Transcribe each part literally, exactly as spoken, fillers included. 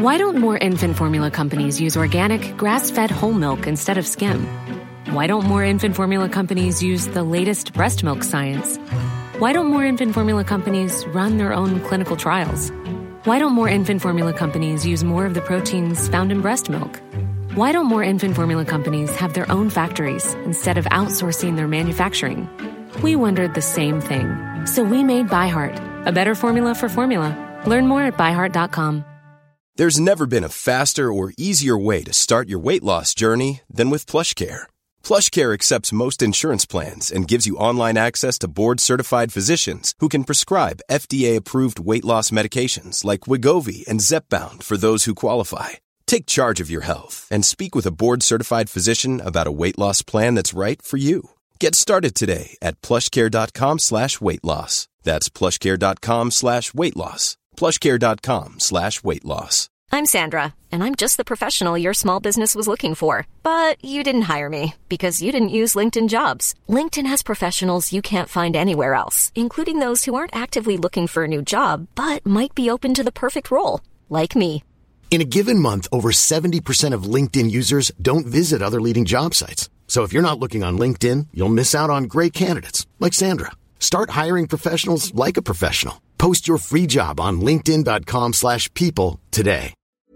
Why don't more infant formula companies use organic, grass-fed whole milk instead of skim? Why don't more infant formula companies use the latest breast milk science? Why don't more infant formula companies run their own clinical trials? Why don't more infant formula companies use more of the proteins found in breast milk? Why don't more infant formula companies have their own factories instead of outsourcing their manufacturing? We wondered the same thing. So we made ByHeart, a better formula for formula. Learn more at by heart dot com. There's never been a faster or easier way to start your weight loss journey than with PlushCare. PlushCare accepts most insurance plans and gives you online access to board-certified physicians who can prescribe F D A-approved weight loss medications like Wegovy and Zepbound for those who qualify. Take charge of your health and speak with a board-certified physician about a weight loss plan that's right for you. Get started today at plushcare.com slash weight loss. That's plushcare.com slash weight loss. plushcare.com slash weight loss. I'm Sandra, and I'm just the professional your small business was looking for. But you didn't hire me because you didn't use LinkedIn Jobs. LinkedIn has professionals you can't find anywhere else, including those who aren't actively looking for a new job, but might be open to the perfect role, like me. In a given month, over seventy percent of LinkedIn users don't visit other leading job sites. So if you're not looking on LinkedIn, you'll miss out on great candidates like Sandra. Start hiring professionals like a professional. Post your free job on linkedin.com slash people today.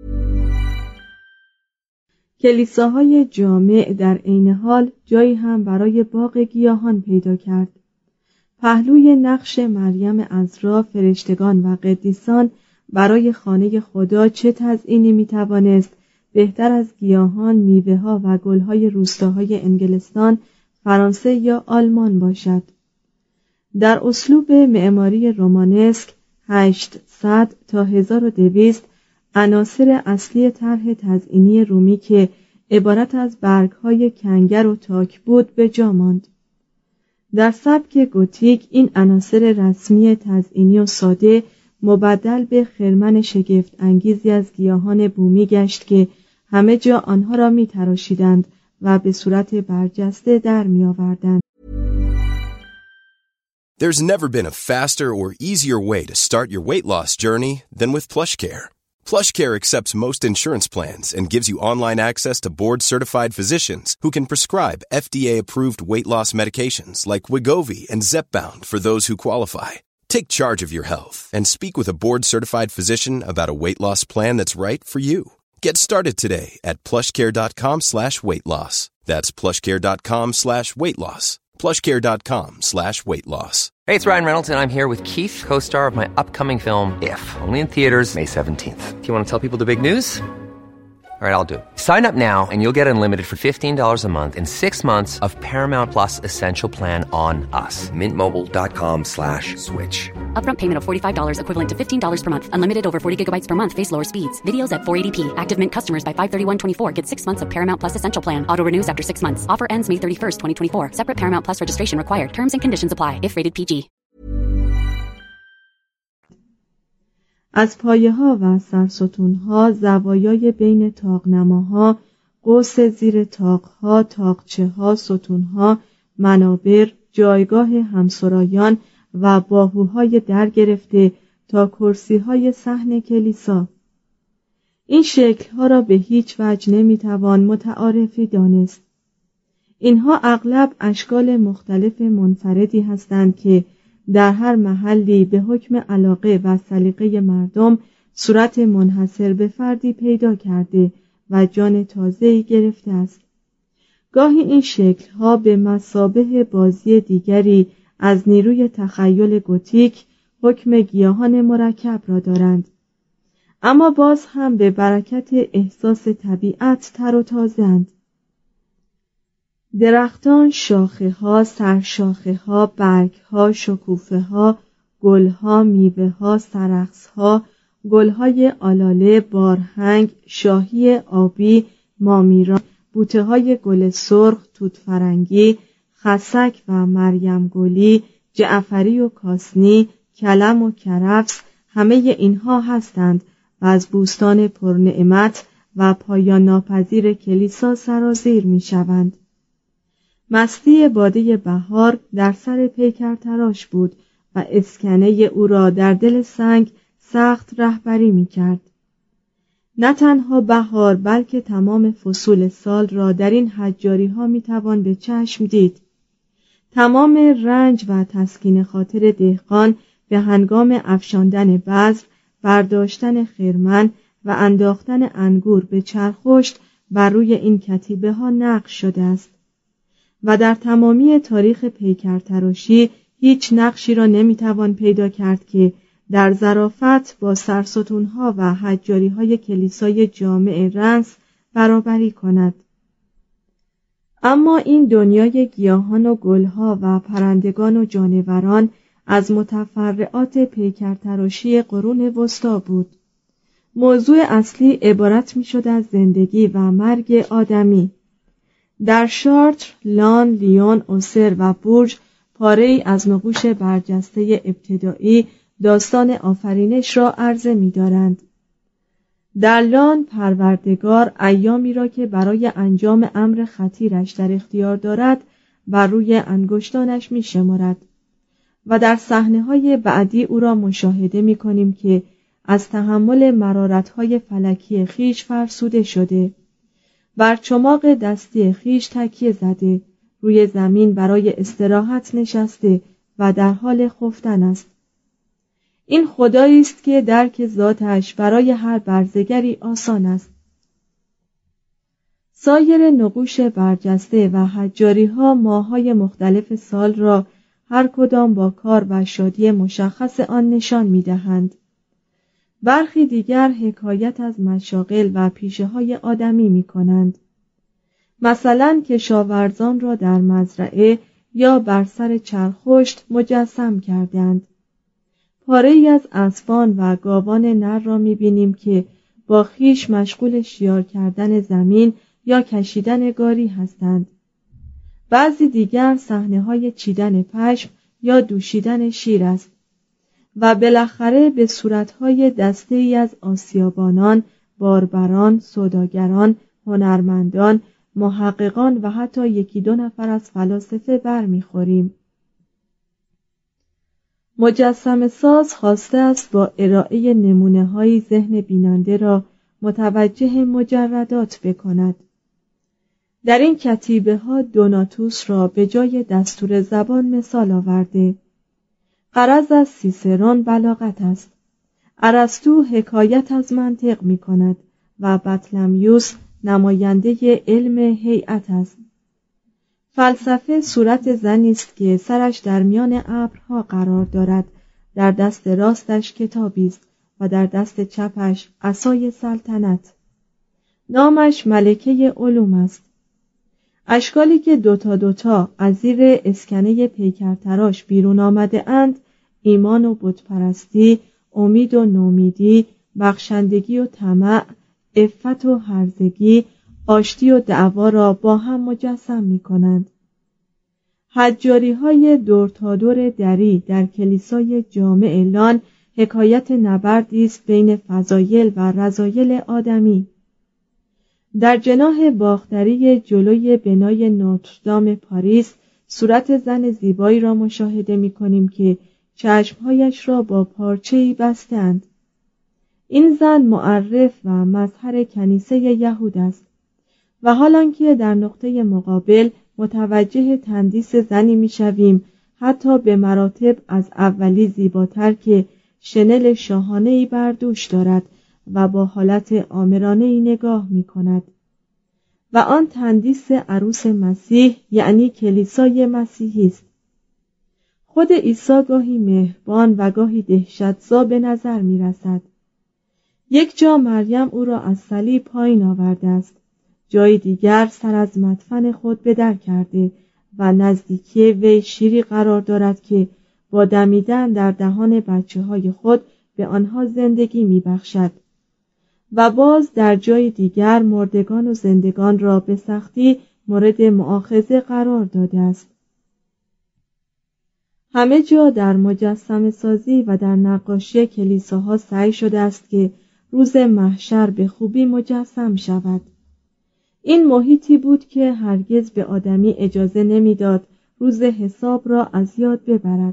کلیساهای جامع در عین حال جایی هم برای باغ گیاهان پیدا کرد. پهلوی نقش مریم عذرا، فرشتگان و قدیسان برای خانه خدا چه تزیینی میتوانست بهتر از گیاهان، میوه‌ها و گل‌های روستاهای انگلستان، فرانسه یا آلمان باشد. در اسلوب معماری رومانسک هشتصد تا هزار و دویست عناصر اصلی طرح تزیینی رومی که عبارت از برگ‌های کنگر و تاک بود به جا ماند. در سبک گوتیک این عناصر رسمی تزیینی و ساده مبدل به خرمن شگفت انگیزی از گیاهان بومی گشت که همه جا آنها را می تراشیدند و به صورت برجسته در می آوردند. There's never been a faster or easier way to start your weight loss journey than with PlushCare. PlushCare accepts most insurance plans and gives you online access to board-certified physicians who can prescribe F D A-approved weight loss medications like Wegovy and Zepbound for those who qualify. Take charge of your health and speak with a board-certified physician about a weight loss plan that's right for you. Get started today at plushcare.com slash weight loss. That's plushcare.com slash weight loss. plushcare.com slash weight loss. Hey, it's Ryan Reynolds, and I'm here with Keith, co-star of my upcoming film, If, only in theaters May seventeenth. Do you want to tell people the big news? All right, I'll do it. Sign up now and you'll get unlimited for fifteen dollars a month and six months of Paramount Plus Essential Plan on us. Mintmobile.com slash switch. Upfront payment of forty-five dollars equivalent to fifteen dollars per month. Unlimited over forty gigabytes per month. Face lower speeds. Videos at four eighty p. Active Mint customers by five thirty-one twenty-four get six months of Paramount Plus Essential Plan. Auto renews after six months. Offer ends May thirty-first, twenty twenty-four. Separate Paramount Plus registration required. Terms and conditions apply if rated P G. از پایه‌ها و سرستون‌ها، زوایای بین طاق‌نماها، قوس زیر طاق‌ها، طاقچه‌ها، ستون‌ها، منابر، جایگاه همسرایان و باهوهای در گرفته تا کرسی‌های صحن کلیسا. این شکل‌ها را به هیچ وجه نمی‌توان متعارفی دانست. اینها اغلب اشکال مختلف منفردی هستند که در هر محلی به حکم علاقه و سلیقه مردم صورت منحصر به فردی پیدا کرده و جان تازه‌ای گرفته است. گاهی این شکل‌ها به مثابه بازی دیگری از نیروی تخیل گوتیک حکم گیاهان مرکب را دارند، اما باز هم به برکت احساس طبیعت تر و تازه‌اند. درختان، شاخه‌ها، سرشاخه‌ها، برگ‌ها، شکوفه‌ها، گل‌ها، میوه‌ها، سرخس‌ها، گل‌های آلاله، بارهنگ، شاهی آبی، مامیران، بوته‌های گل سرخ، توت فرنگی، خسک و مریم گلی، جعفری و کاسنی، کلم و کرفس، همه اینها هستند و از بوستان پرنعمت و پایان ناپذیر کلیسا سرازیر می‌شوند. مستی باده بهار در سر پیکر تراش بود و اسکنه او را در دل سنگ سخت رهبری می کرد. نه تنها بهار بلکه تمام فصول سال را در این حجاری ها می توان به چشم دید. تمام رنج و تسکین خاطر دهقان به هنگام افشاندن بذر، برداشتن خرمن و انداختن انگور به چرخشت بر روی این کتیبه ها نقش شده است و در تمامی تاریخ پیکرتراشی هیچ نقشی را نمیتوان پیدا کرد که در ظرافت با سرستونها و حجاریهای کلیسای جامع رنس برابری کند. اما این دنیای گیاهان و گلها و پرندگان و جانوران از متفرعات پیکرتراشی قرون وسطی بود. موضوع اصلی عبارت می‌شد از زندگی و مرگ آدمی. در شارتر، لان، لیون، اوسر و بورژ پاره‌ای از نقوش برجسته ابتدایی داستان آفرینش را عرضه می‌دارند. در لان پروردگار ایامی را که برای انجام امر خطیرش در اختیار دارد بر روی انگشتانش می‌شمارد و در صحنه‌های بعدی او را مشاهده می‌کنیم که از تحمل مرارت‌های فلکی خیش فرسوده شده، بر چماق دستی خیش تکیه زده، روی زمین برای استراحت نشسته و در حال خفتن است. این خدایی است که درک ذاتش برای هر برزگری آسان است. سایر نقوش برجسته و حجاری‌ها ماه‌های مختلف سال را هر کدام با کار و شادی مشخص آن نشان می‌دهند. برخی دیگر حکایت از مشاغل و پیشه‌های آدمی می‌کنند. مثلا کشاورزان را در مزرعه یا بر سر چرخشت مجسم کردند. پاره‌ای از اسبان و گاوان نر را می‌بینیم که با خیش مشغول شیار کردن زمین یا کشیدن گاری هستند. بعضی دیگر صحنه‌های چیدن پشم یا دوشیدن شیر است و بالاخره به صورت‌های دسته‌ای از آسیابانان، باربران، سوداگران، هنرمندان، محققان و حتی یکی دو نفر از فلاسفه برمیخوریم. مجسمه ساز خواسته است با ارائه نمونه‌های ذهن بیننده را متوجه مجردات بکند. در این کتیبه ها دوناتوس را به جای دستور زبان مثال آورده. غرض از سیسرون بلاغت است. ارسطو حکایت از منطق می کند و بطلمیوس نماینده علم هیئت است. فلسفه صورت زنی است که سرش در میان ابرها قرار دارد، در دست راستش کتابی است و در دست چپش عصای سلطنت. نامش ملکه علوم است. اشکالی که دوتا دوتا از زیر اسکنه پیکرتراش بیرون آمده اند، ایمان و بتپرستی، امید و نومیدی، بخشندگی و طمع، عفت و هرزگی، آشتی و دعوا را با هم مجسم می کنند. حجاری های دور تا دور دری در کلیسای جامع لان حکایت نبردی است بین فضایل و رذایل آدمی. در جناح باختری جلوی بنای نوتردام پاریس صورت زن زیبایی را مشاهده می کنیم که چشمهایش را با پارچه‌ای بستند. این زن معرف و مظهر کنیسه یهود است و حالان که در نقطه مقابل متوجه تندیس زنی می شویم حتی به مراتب از اولی زیباتر که شنل شاهانه‌ای بر دوش دارد و با حالت آمرانه‌ای نگاه می کند. و آن تندیس عروس مسیح یعنی کلیسای مسیحی است. خود عیسی گاهی مهربان و گاهی دهشتزا به نظر می رسد. یک جا مریم او را از صلیب پایین آورده است، جای دیگر سر از مدفن خود به در کرده و نزدیکی وی شیری قرار دارد که با دمیدن در دهان بچه های خود به آنها زندگی می بخشد. و باز در جای دیگر مردگان و زندگان را به سختی مورد مؤاخذه قرار داده است. همه جا در مجسمه سازی و در نقاشی کلیساها سعی شده است که روز محشر به خوبی مجسم شود. این محیطی بود که هرگز به آدمی اجازه نمیداد روز حساب را از یاد ببرد.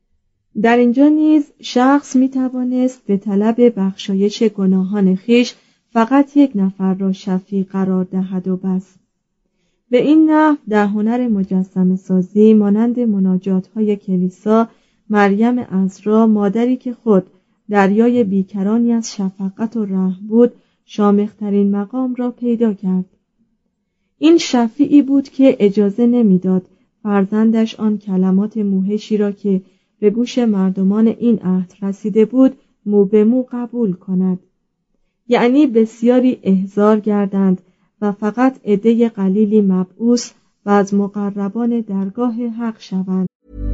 در اینجا نیز شخص می توانست به طلب بخشایش گناهان خیش فقط یک نفر را شفیع قرار دهد و بس. به این نحو در هنر مجسمه سازی مانند مناجات های کلیسا، مریم عذرا مادری که خود دریای بیکرانی از شفقت و رحم بود شامخترین مقام را پیدا کرد. این شفیعی بود که اجازه نمیداد فرزندش آن کلمات موحشی را که به گوش مردمان این عهد رسیده بود مو به مو قبول کند، یعنی بسیاری احضار گردند و فقط عده قلیلی مبعوث و از مقربان درگاه حق شوند.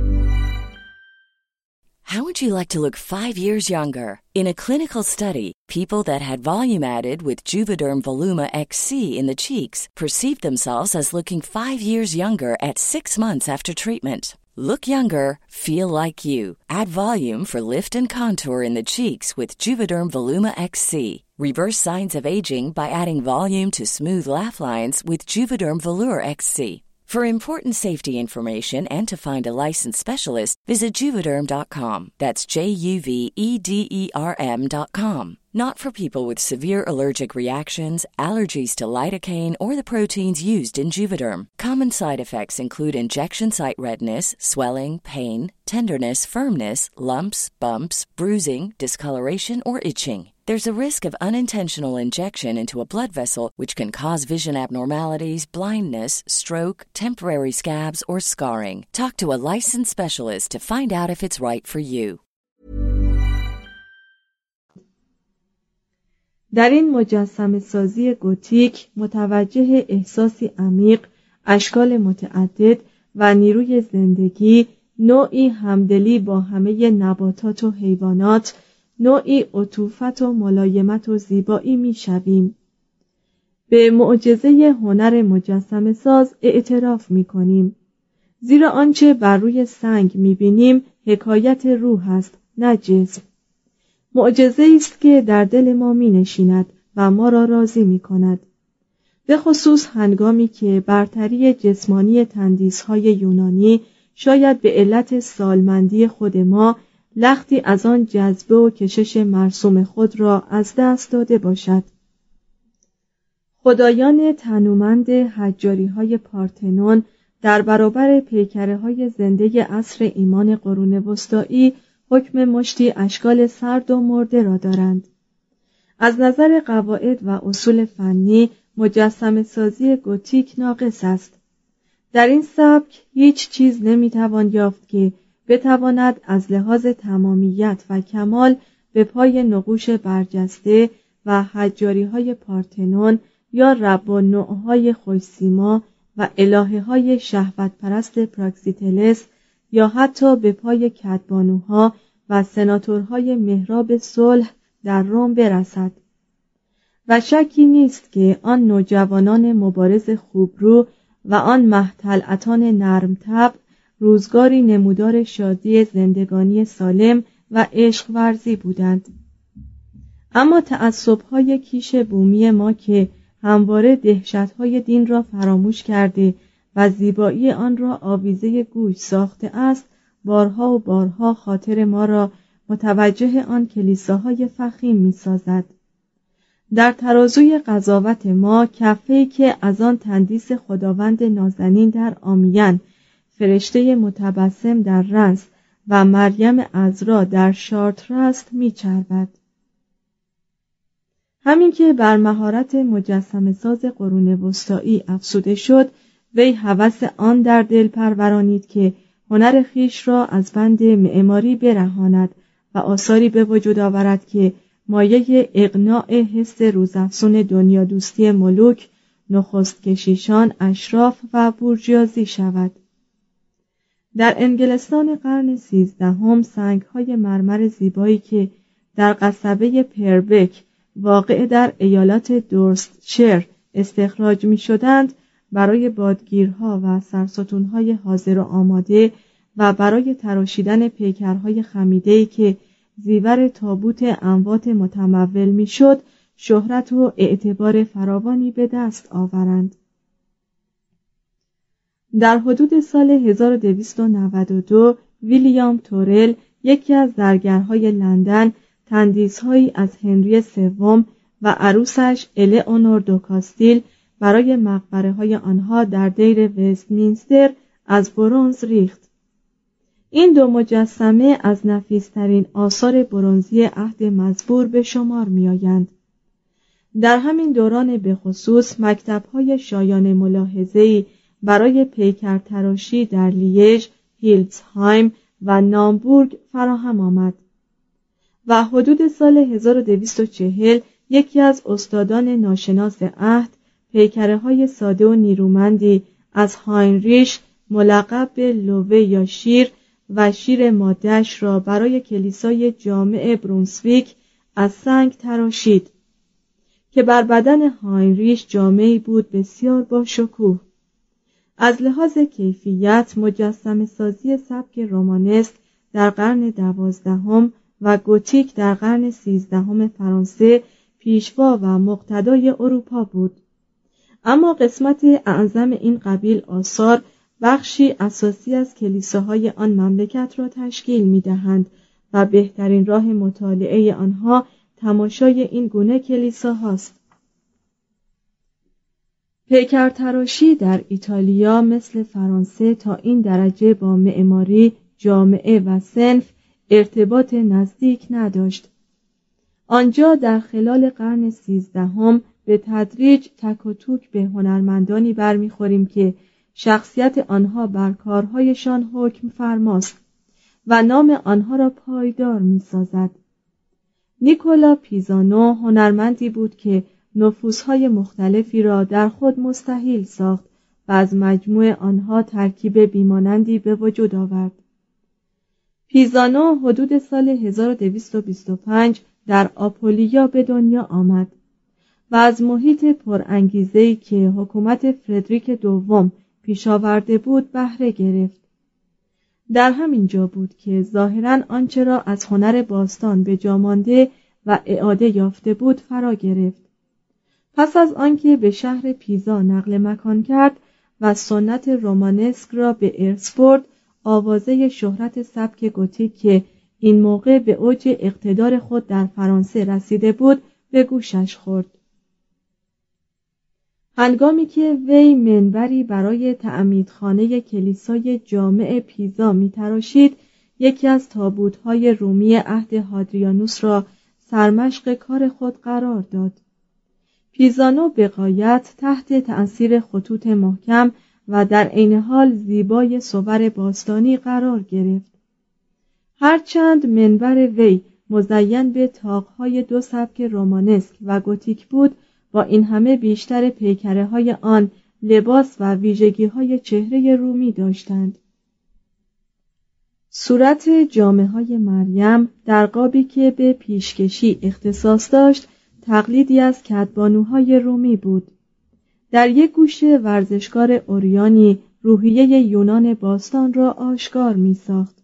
How would you like to look five years younger? In a clinical study, people that had volume added with Juvederm Voluma X C in the cheeks perceived themselves as looking five years younger at six months after treatment. Look younger, feel like you. Add volume for lift and contour in the cheeks with Juvederm Voluma X C. Reverse signs of aging by adding volume to smooth laugh lines with Juvederm Volure X C. For important safety information and to find a licensed specialist, visit Juvederm dot com. That's J U V E D E R M dot com. Not for people with severe allergic reactions, allergies to lidocaine, or the proteins used in Juvederm. Common side effects include injection site redness, swelling, pain, tenderness, firmness, lumps, bumps, bruising, discoloration, or itching. There's a risk of unintentional injection into a blood vessel which can cause vision abnormalities, blindness, stroke, temporary scabs, or scarring. Talk to a licensed specialist to find out if it's right for you. در این مجسمه سازی گوتیک متوجه احساسی عمیق، اشکال متعدد و نیروی زندگی، نوعی همدلی با همه نباتات و حیوانات، نوعی عطوفت و ملایمت و زیبایی می شویم. به معجزه هنر مجسمه ساز اعتراف می کنیم، زیرا آنچه بر روی سنگ می بینیم حکایت روح است، نه جسم. معجزه است که در دل ما می نشیند و ما را راضی می کند، به خصوص هنگامی که برتری جسمانی تندیس‌های یونانی شاید به علت سالمندی خود ما لختی از آن جذبه و کشش مرسوم خود را از دست داده باشد. خدایان تنومند حجاری‌های پارتنون در برابر پیکره‌های زنده عصر ایمان قرون وسطایی حکم مشتی اشکال سرد و مرده را دارند. از نظر قواعد و اصول فنی مجسمه سازی گوتیک ناقص است. در این سبک هیچ چیز نمیتوان یافت که بتواند از لحاظ تمامیت و کمال به پای نقوش برجسته و حجاری‌های پارتنون یا رب و نوع‌های خوش‌سیما و الهه‌های شهوت پرست پراکسیتلس یا حتی به پای کدبانوها و سناتورهای محراب صلح در روم برسد. و شکی نیست که آن نوجوانان مبارز خوبرو و آن مه‌طلعتان نرم طبع روزگاری نمودار شادی زندگانی سالم و عشق ورزی بودند. اما تعصب‌های کیش بومی ما که همواره دهشت‌های دین را فراموش کرده و زیبایی آن را آویزه گوش ساخته است، بارها و بارها خاطر ما را متوجه آن کلیساهای فخیم می‌سازد. در ترازوی قضاوت ما کفه‌ای که از آن تندیس خداوند نازنین در آمیان، فرشته متبسم در رنس و مریم عذرا در شارتر است می‌چربد. همین که بر مهارت مجسمه ساز قرون وسطایی افزوده شد، وی هوس آن در دل پرورانید که هنر خیش را از بند معماری برهاند و آثاری به وجود آورد که مایه اقناع حس روزافزون دنیا دوستی ملوک، نخست کشیشان، اشراف و بورژوازی شود. در انگلستان قرن سیزدهم سنگ‌های مرمر زیبایی که در قصبه پربک واقع در ایالت دورستشیر استخراج می‌شدند، برای بادگیرها و سرستون‌های حاضر و آماده و برای تراشیدن پیکرهای خمیده‌ای که زیور تابوت اموات متمول می‌شد، شهرت و اعتبار فراوانی به دست آورند. در حدود سال هزار و دویست و نود و دو ویلیام تورل، یکی از زرگرهای لندن، تندیس‌هایی از هنری سوم و عروسش الئونور دو کاستیل برای مقبره های آنها در دیر وستمینستر از برنز ریخت. این دو مجسمه از نفیس‌ترین آثار برنزی عهد مزبور به شمار می‌آیند. در همین دوران به خصوص مکتب‌های شایان ملاحظه‌ای برای پیکرتراشی در لیژ، هیلتسهایم و نامبورگ فراهم آمد و حدود سال هزار و دویست و چهل یکی از استادان ناشناس عهد پیکره‌های ساده و نیرومندی از هاینریش ملقب به لوه یا شیر و شیر ماده‌اش را برای کلیسای جامع برونسویک از سنگ تراشید که بر بدن هاینریش جامه‌ای بود بسیار با شکوه. از لحاظ کیفیت مجسمه سازی سبک رومانسک در قرن دوازدهم و گوتیک در قرن سیزدهم فرانسه پیشوا و مقتدای اروپا بود، اما قسمت اعظم این قبیل آثار بخشی اساسی از کلیساهای آن مملکت را تشکیل می‌دهند و بهترین راه مطالعه آنها تماشای این گونه کلیساهاست. پیکرتراشی در ایتالیا مثل فرانسه تا این درجه با معماری، جامعه و صنف ارتباط نزدیک نداشت. آنجا در خلال قرن سیزدهم به تدریج تک و توک به هنرمندانی برمیخوریم که شخصیت آنها بر کارهایشان حکم فرماست و نام آنها را پایدار می‌سازد. نیکولا پیزانو هنرمندی بود که نفوس‌های مختلفی را در خود مستحیل ساخت و از مجموع آنها ترکیب بیمانندی به وجود آورد. پیزانو حدود سال هزار و دویست و بیست و پنج در آپولیا به دنیا آمد و از محیط پرانگیزه‌ای که حکومت فردریک دوم پیش آورده بود بهره گرفت. در همین جا بود که ظاهراً آنچه را از هنر باستان به جا مانده و اعاده یافته بود فرا گرفت. پس از آنکه به شهر پیزا نقل مکان کرد و سنت رومانسک را به ارث برد، آوازه شهرت سبک گوتیک که این موقع به اوج اقتدار خود در فرانسه رسیده بود به گوشش خورد. هنگامی که وی منبری برای تعمیدخانه کلیسای جامع پیزا می‌تراشید، یکی از تابوت‌های رومی عهد هادریانوس را سرمشق کار خود قرار داد. پیزانو به غایت تحت تأثیر خطوط محکم و در عین حال زیبای صور باستانی قرار گرفت. هرچند منبر وی مزین به طاق‌های دو سبک رومانسک و گوتیک بود، با این همه بیشتر پیکره‌های آن لباس و ویژگی‌های چهره رومی داشتند. صورت جامه‌های مریم در قابی که به پیشکشی اختصاص داشت تقلیدی از کدبانوهای رومی بود. در یک گوشه ورزشکار اوریانی روحیه یونان باستان را آشکار می‌ساخت.